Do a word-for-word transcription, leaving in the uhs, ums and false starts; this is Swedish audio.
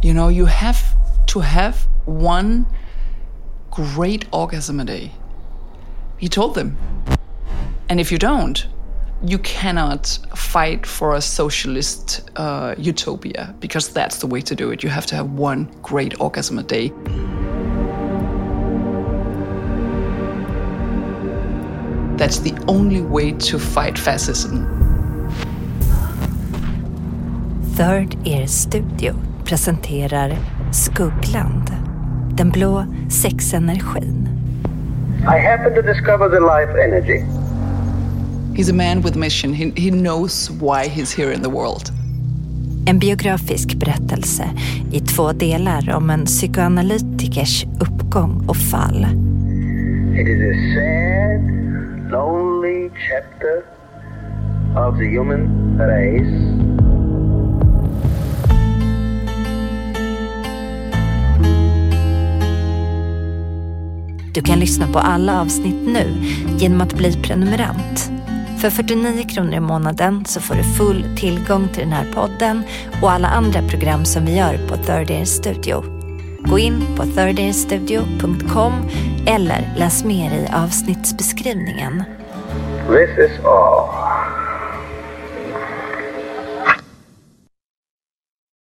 You know, you have to have one great orgasm a day. He told them. And if you don't, you cannot fight for a socialist uh, utopia, because that's the way to do it. You have to have one great orgasm a day. That's the only way to fight fascism. Third Ear Studio presenterar Skuggland, den blå sexenergin. I happened to discover the life energy. He's a man with mission. He, he knows why he's here in the world. En biografisk berättelse i två delar om en psykoanalytikers uppgång och fall. It is a sad, lonely chapter of the human race. Du kan lyssna på alla avsnitt nu genom att bli prenumerant. För fyrtionio kronor i månaden så får du full tillgång till den här podden och alla andra program som vi gör på Third Ear Studio. Gå in på third ear studio punkt com eller läs mer i avsnittsbeskrivningen. This is all.